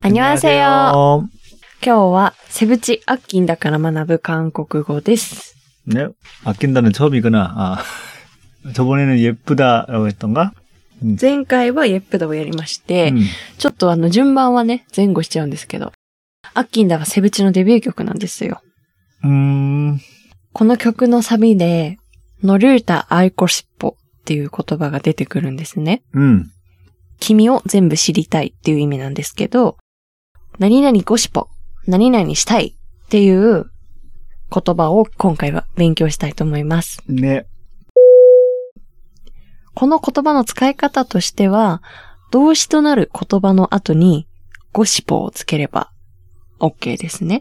안녕하세요。今日はセブチ아낀다から学ぶ韓国語です。 네, 아낀다는 처음이구나. 저번에는 예쁘다라고 했던가? 前回は예쁘다をやりまして、ちょっと順番はね、前後しちゃうんですけど、아낀다はセブチのデビュー曲なんですよ。この曲のサビで、너를 다 알고 싶어っていう言葉が出てくるんですね。君を全部知りたいっていう意味なんですけど、何々ごしぽ、何々したいっていう言葉を今回は勉強したいと思います。 ね。 この言葉の使い方としては、動詞となる言葉の後にごしぽをつければ OK ですね。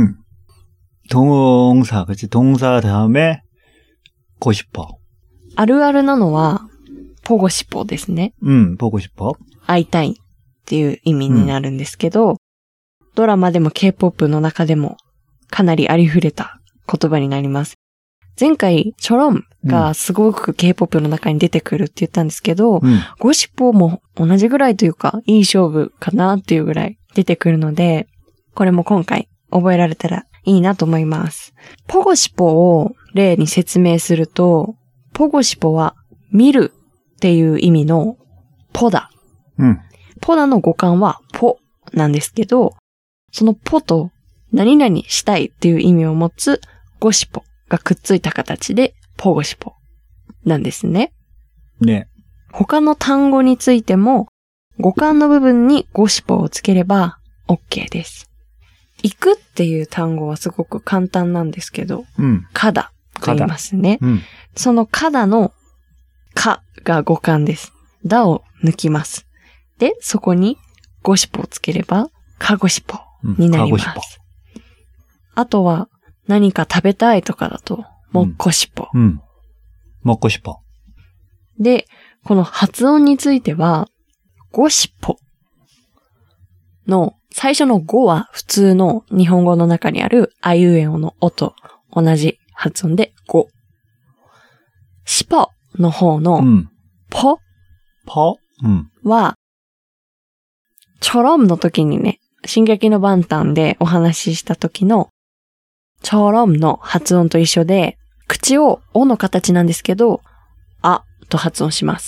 동사, 그치? 동사 다음에 고 싶어. あるあるなのはポゴシポですね。 보고 싶어. 会いたいっていう意味になるんですけど、ドラマでも K-POP の中でもかなりありふれた言葉になります。前回、チョロンがすごく K-POP の中に出てくるって言ったんですけど、ゴシポも同じぐらいというか、いい勝負かなっていうぐらい出てくるので、これも今回覚えられたらいいなと思います。ポゴシポを例に説明すると、ポゴシポは見るっていう意味のポダ。ポダの語感はポなんですけど、そのポと何々したいっていう意味を持つゴシポがくっついた形でポゴシポなんですね。 ね。 他の単語についても語感の部分にゴシポをつければ OK です。行くっていう単語はすごく簡単なんですけど、かだと言いますね。そのかだのかが語感です。だを抜きます。で、そこにゴシポをつければかごしぽになります。あとは何か食べたいとかだともっこしぽ。 もっこしぽ。 で、この発音についてはごしぽの最初のごは普通の日本語の中にあるあいうえおのおと同じ発音でご。しぽの方のぽはチョロムの時にね、進撃のバンタンでお話しした時のチョロムの発音と一緒で、口をおの形なんですけど、あと発音します。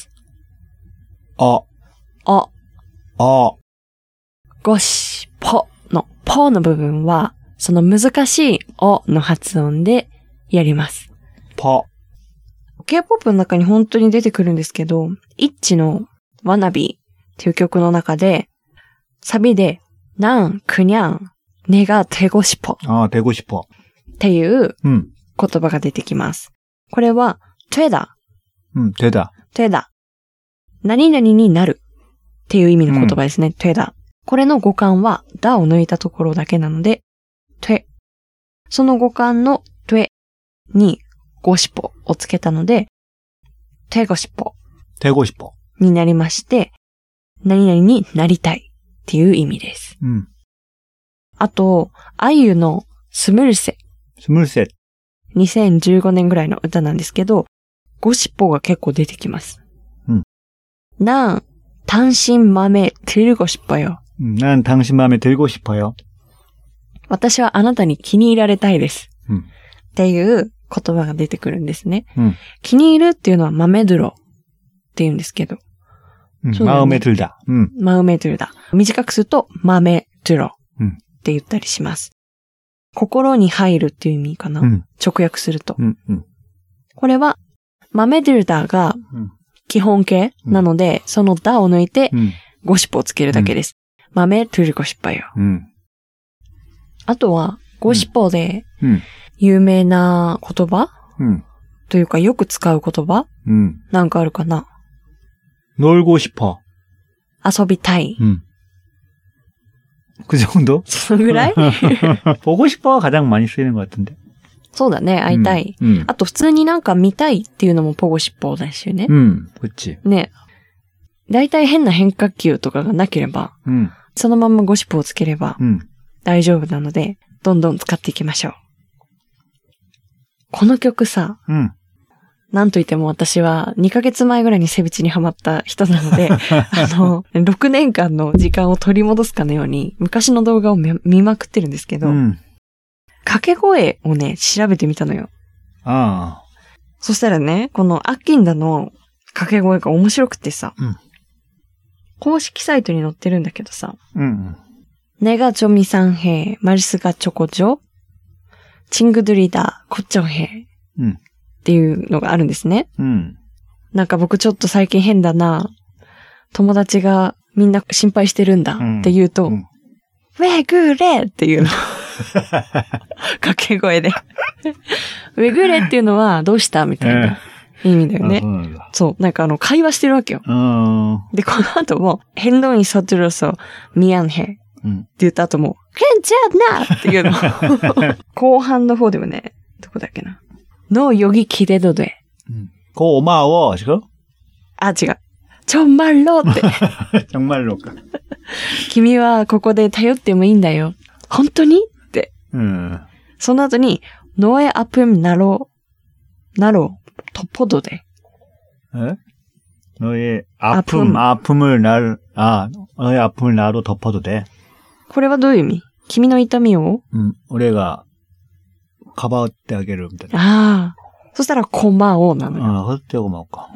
ごしぽのぽの部分は、その難しいおの発音でやります。K-POP の中に本当に出てくるんですけど、イッチのワナビーっていう曲の中で、サビで、なんくにゃん、ねがてごしぽ。 되고 싶어。 っていう言葉が出てきます。これは、되다。되다。何々になるっていう意味の言葉ですね。되다。これの語感は、だを抜いたところだけなので、て。その語感のてにごしぽをつけたので、てごしぽ。になりまして、何々になりたい。っていう意味です。あと、あゆのスムルセ。2015年ぐらいの歌なんですけど、ゴシポが結構出てきます。난 당신 맘에 들고 싶어요。 난 당신 맘에 들고 싶어요。 私はあなたに気に入られたいです。っていう言葉が出てくるんですね。気に入るっていうのはマメドゥロって言うんですけど。 마음에 들다。 마음에 들다。短くすると、마음에 들어って言ったりします。心に入るっていう意味かな。直訳すると。これは、마음에 들다が基本形なので、そのだを抜いて、ゴシポをつけるだけです。마음에 들고 싶어요。あとは、ゴシポで有名な言葉というか、よく使う言葉なんかあるかな。 놀고 싶어。 遊びたい。 그 정도? そのぐらい 보고 싶어가 가장 많이 쓰이는 것 같은데. そうだね、会いたい。あと普通になんか見たいっていうのもポゴシポですよね。 그치。 ね。だいたい変な変化球とかがなければ、そのままゴシポをつければ大丈夫なので、どんどん使っていきましょう。この曲さ、 なんといっても私は2ヶ月前ぐらいにセビチにハマった人なので、6年間の時間を取り戻すかのように、昔の動画を見まくってるんですけど、掛け声をね、調べてみたのよ。 ああ。 そしたらね、このアッキンダの掛け声が面白くてさ、公式サイトに載ってるんだけどさ、내가 좀 이상해, 말수가 적어져, 친구들이다, 걱정해. っていうのがあるんですね。なんか僕ちょっと最近変だな。友達がみんな心配してるんだって言うと、왜 그래? っていうの。掛け声で。왜 그래? っていうのはどうしたみたいな意味だよね。そう。なんか会話してるわけよ。で、この後も、행동이 서툴러서 미안해. って言った後も、괜찮아! っていうの。後半の方でもね、どこだっけな。너 여기 기대도 돼. 고마워, 지금? 아, 違う. 정말로 って. 정말로까. 君はここで頼ってもいいんだよ. 本当に? って. その後に 너의 아픔 나로 덮어도 돼. 에? 너의 아픔을 너의 아픔을 나로 덮어도 돼. これはどういう意味? 君の痛みを? 우리가かばってあげるみたいな。 ああ。そしたら、こまおなのよ。 ああ、ほってごまおか。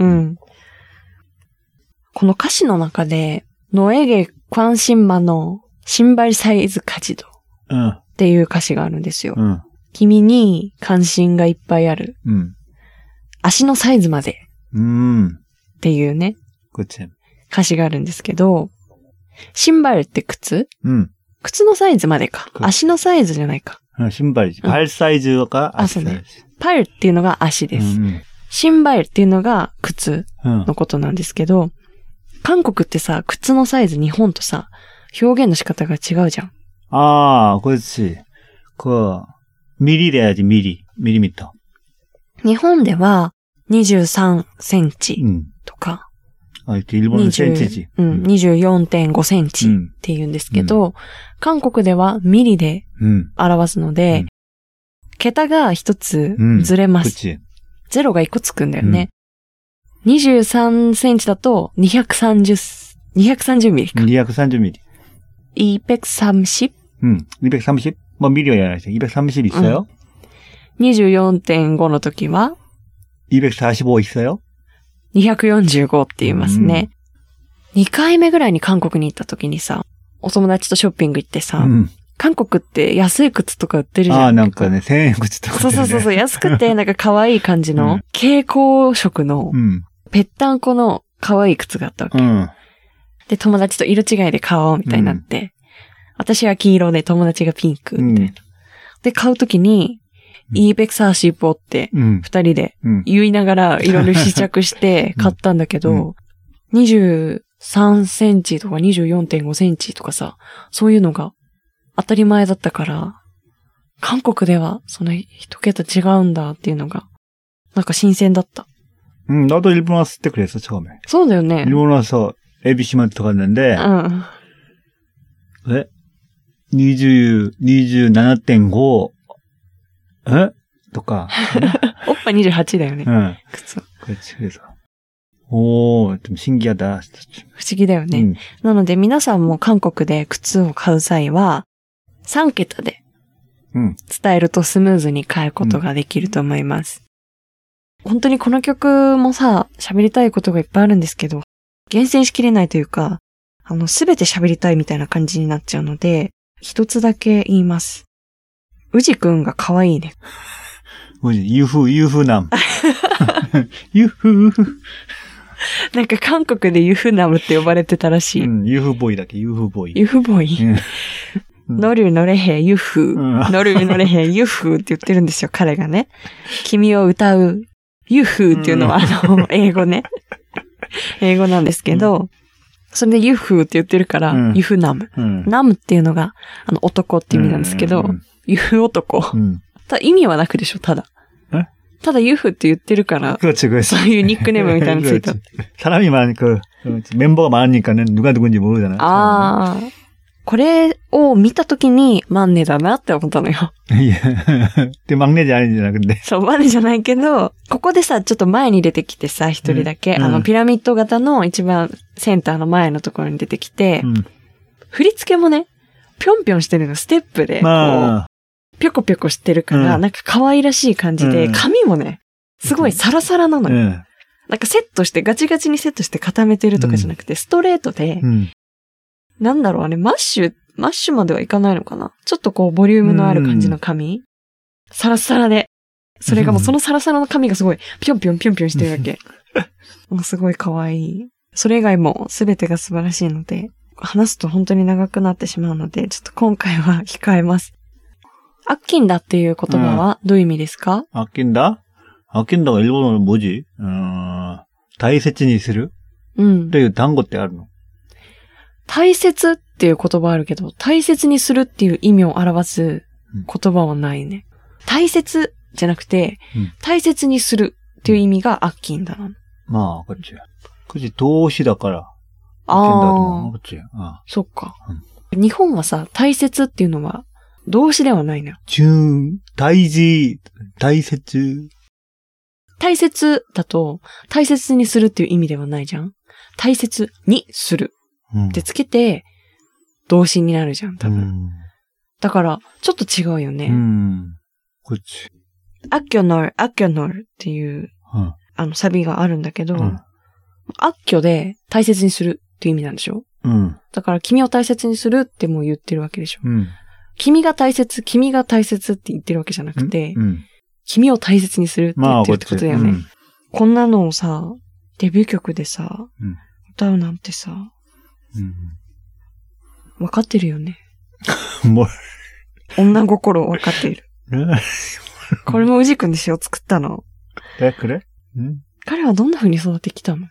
この歌詞の中で、너에게 관심 많어, 신발 사이즈 가지도. っていう歌詞があるんですよ。君に関心がいっぱいある。足のサイズまで。っていうね。歌詞があるんですけど、신발って靴？靴のサイズまでか。足のサイズじゃないか。 신발이지. 발 사이즈가足サイズ。 パルっていうのが足です。신발っていうのが靴のことなんですけど、韓国ってさ、靴のサイズ日本とさ、表現の仕方が違うじゃん。 ああ、그렇지。ミリでやじ、ミリミット。 日本では23センチとか、 일본은センチ지。 24.5 センチって言うんですけど、韓国ではミリで表すので、桁が一つずれます。ゼロが一個つくんだよね。23センチだと230ミリか。 230ミリ。 230? 230? 뭐 미리가 아니라 230 있어요? 24.5 の時は 245 있어요? 245って言いますね。2回目ぐらいに韓国に行った時にさ、お友達とショッピング行ってさ、韓国って安い靴とか売ってるじゃん。 ああ、なんかね、1000円靴とか、ね。 そう、安くてなんか可愛い感じの、蛍光色の、ぺったんこの可愛い靴があったわけ。で、友達と色違いで買おうみたいになって、私は黄色で友達がピンクみたいな。で、買う時に、245って二人で言いながらいろいろ試着して買ったんだけど、23センチとか 24.5 センチとかさ、そういうのが当たり前だったから、韓国ではその一桁違うんだっていうのが、なんか新鮮だった。 나도 일본 왔을 때 그랬어, 처음에. そうだよね。 일본 와서 에비시마트 갔는데, 왜? 27.5,とか。 おっぱ28だよね。靴。 그렇지, 그래서. 오, 좀 신기하다. 不思議だよね。なので皆さんも韓国で靴を買う際は、3桁で伝えるとスムーズに買うことができると思います。本当にこの曲もさ、喋りたいことがいっぱいあるんですけど、厳選しきれないというか、すべて喋りたいみたいな感じになっちゃうので、一つだけ言います。ウジくんが可愛いね。 유후남. 유후. なんか韓国でユフナムって呼ばれてたらしい。 유후보이だっけ、유후보이。 ユフボイ。乗る乗れへんユフ。乗る乗れへんユフって言ってるんですよ、彼がね。君を歌うユフっていうのは英語ね。英語なんですけど、それでユフって言ってるから、ユフナム。ナムっていうのが、男って意味なんですけど、ユフ男。ただ意味はなくでしょ、ただ。ただユフって言ってるから、 そういうニックネームみたいなのついた。 사람이 많으니까, 멤버가 많으니까는 누가 누군지 모르잖아. これを見たときに、マンネだなって思ったのよ。 いや、で、막내지 아니잖아, 근데. そう、マンネじゃないけど、ここでさ、ちょっと前に出てきてさ、一人だけ、ピラミッド型の一番センターの前のところに出てきて、振り付けもね、ぴょんぴょんしてるの、ステップで、こう、ぴょこぴょこしてるから、なんか可愛らしい感じで、髪もね、すごいサラサラなのよ。なんかセットして、ガチガチにセットして固めてるとかじゃなくて、ストレートで、なんだろう、あれ、マッシュまではいかないのかな？ちょっとこう、ボリュームのある感じの髪、サラサラで。それがもうそのサラサラの髪がすごい、ぴょんぴょんぴょんぴょんしてるわけ。もうすごい可愛い。それ以外も全てが素晴らしいので、話すと本当に長くなってしまうので、ちょっと今回は控えます。アッキンダっていう言葉はどういう意味ですか？ 아낀다가 일본어로 뭐지? 大切にするっていう単語ってあるの？ 大切っていう言葉あるけど、大切にするっていう意味を表す言葉はないね。大切じゃなくて、大切にするっていう意味がアッキンダなの。 まあ、그치.動詞だから、アッキンダだと思う。그치. そっか。日本はさ、大切っていうのは動詞ではないのよ。 大切。 大切だと、大切にするっていう意味ではないじゃん。大切にする。ってつけて、動詞になるじゃん、多分。だから、ちょっと違うよね。 こっち。 アッキョノルっていう、サビがあるんだけど、アッキョで大切にするっていう意味なんでしょ？だから、君を大切にするってもう言ってるわけでしょ。君が大切って言ってるわけじゃなくて、君を大切にするって言ってるってことだよね。こんなのをさ、デビュー曲でさ、歌うなんてさ、わかってるよね。女心わかっている。これも宇治くんでしょ、作ったの。 그래? 彼はどんな風に育ってきたの？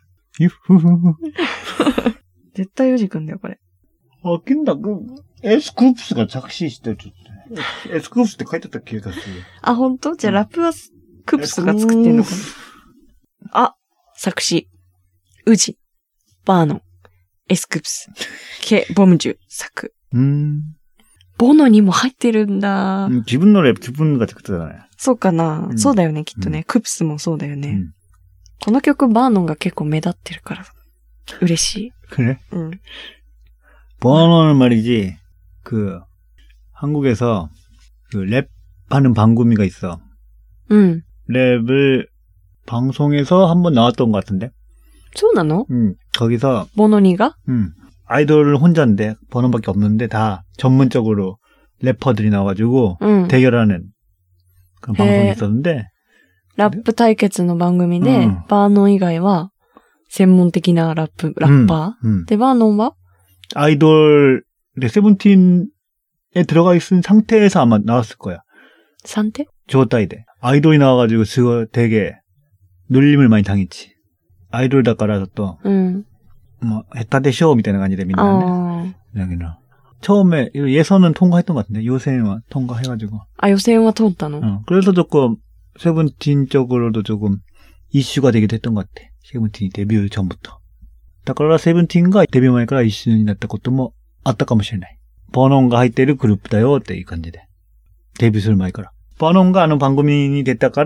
絶対宇治くんだよ、これ。 아낀다, 에스쿱스가 작시시대 줬대. 에스쿱스って書いてた気がする。 あ、ほんと？じゃあラップはクプスが作ってんのかな？作詞。宇治。バーノン。エスクプス。ケ・ボムジュ作。ボノにも入ってるんだ。 自分の랩自分が作ってたね。 そうかな。そうだよね、きっとね。クプスもそうだよね。この曲バーノンが結構目立ってるから嬉しい。 그래? 버너는 말이지. 한국에서 랩하는 방구미가 있어. 랩을 방송에서 한번 나왔던 것 같은데. そうなの? 거기서 버너니가? 아이돌은 혼자인데 버너밖에 없는데 다 전문적으로 래퍼들이 나와가지고 대결하는 그런 방송이 있었는데. ラップ対決の番組で、バーノン以外は専門的なラッパー、で、バーノンは 아이돌 세븐틴에 들어가 있는 상태에서 아마 나왔을 거야. 상태? 状態돼. 아이돌이 나와가지고 그거 되게 놀림을 많이 당했지. 아이돌だから또 뭐 했다 대쇼みたいな感じでみんなね. 여기는 처음에 예선은 통과했던 것 같은데 요새는 통과해가지고. 요새는 통과했나? 그래서 조금 세븐틴 쪽으로도 조금 이슈가 되기도 했던 것 같아. 세븐틴이 데뷔 전부터. だからセブンティーンがデビュー前から一緒になったこともあったかもしれない。バーノンが入っているグループだよっていう感じで。デビューする前から。バーノンが番組に出たから、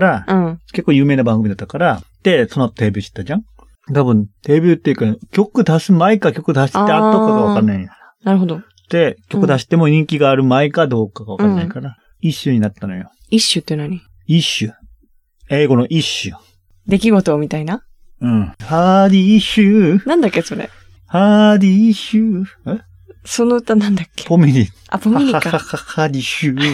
結構有名な番組だったから、で、その後デビューしたじゃん？多分、デビューっていうか、曲出す前か曲出して後かがわかんない。 なるほど。 で、曲出しても人気がある前かどうかがわかんないから、イッシュになったのよ。 イッシュって何？ イッシュ。英語のイッシュ。 出来事みたいな？ ハーディッシュ。 なんだっけそれ。 ハーディッシュ。 その歌なんだっけ？ ポミニ。 ポミニか。 ハーディッシュ。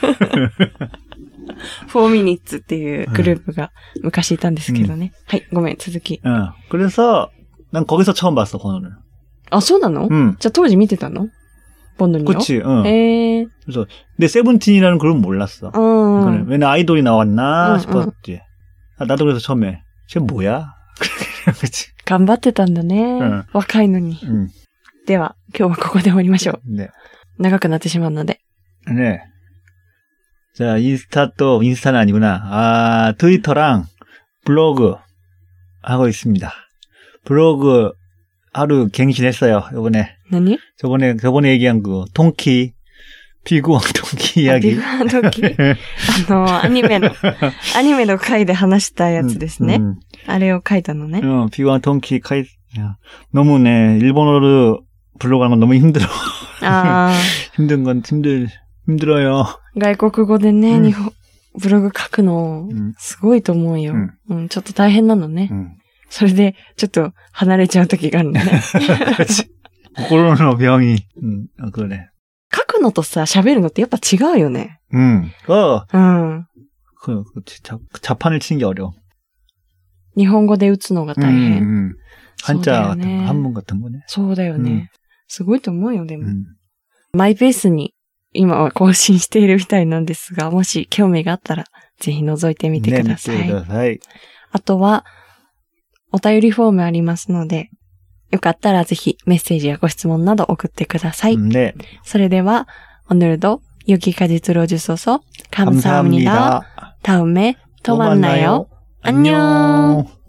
4 minutesっていうグループが昔いたんですけどね。はい、ごめん、続き。 그래서 난 거기서 처음 봤어, 번호를. あ、そうなの？じゃあ当時見てたの？번호니요? 그치, 그래서 근데 세븐틴이라는 그룹은 몰랐어. 왜냐 아이돌이 나왔나 싶었지. 나도 그래서 처음에 쟤 뭐야? 그치. 頑張ってたんだね。若いのに。では、今日はここで終わりましょう。 네. 長くなってしまうので。 네. 자, 인스타는 아니구나. 트위터랑 블로그 하고 있습니다. 블로그 하루 갱신했어요, 요번에. 何 저번에 얘기한 그, 통키, 피구왕 통키 이야기. 피구왕 통키.アニメの回で話したやつですね。あれを書いたのね。 피구왕 통키 너무 네, 일본어로 불러가는 건 너무 힘들어. 힘든 건 힘들어요. 外国語でね、ブログ書くの、すごいと思うよ。ちょっと大変なのね。それで、ちょっと離れちゃう時があるのね。 心の병이, 그러네. 書くのとさ、喋るのってやっぱ違うよね。 자판을 치는 게 어려워. 日本語で打つのが大変。 한자 같은 거, 한문 같은 거네. そうだよね。すごいと思うよ、でも。マイペースに今は更新しているみたいなんですが、もし興味があったら、ぜひ覗いてみてください。あとは、お便りフォームありますので、よかったらぜひメッセージやご質問など送ってください。それでは、오늘도 여기까지 들어주셔서 감사합니다. 다음에 또 만나요. 안녕.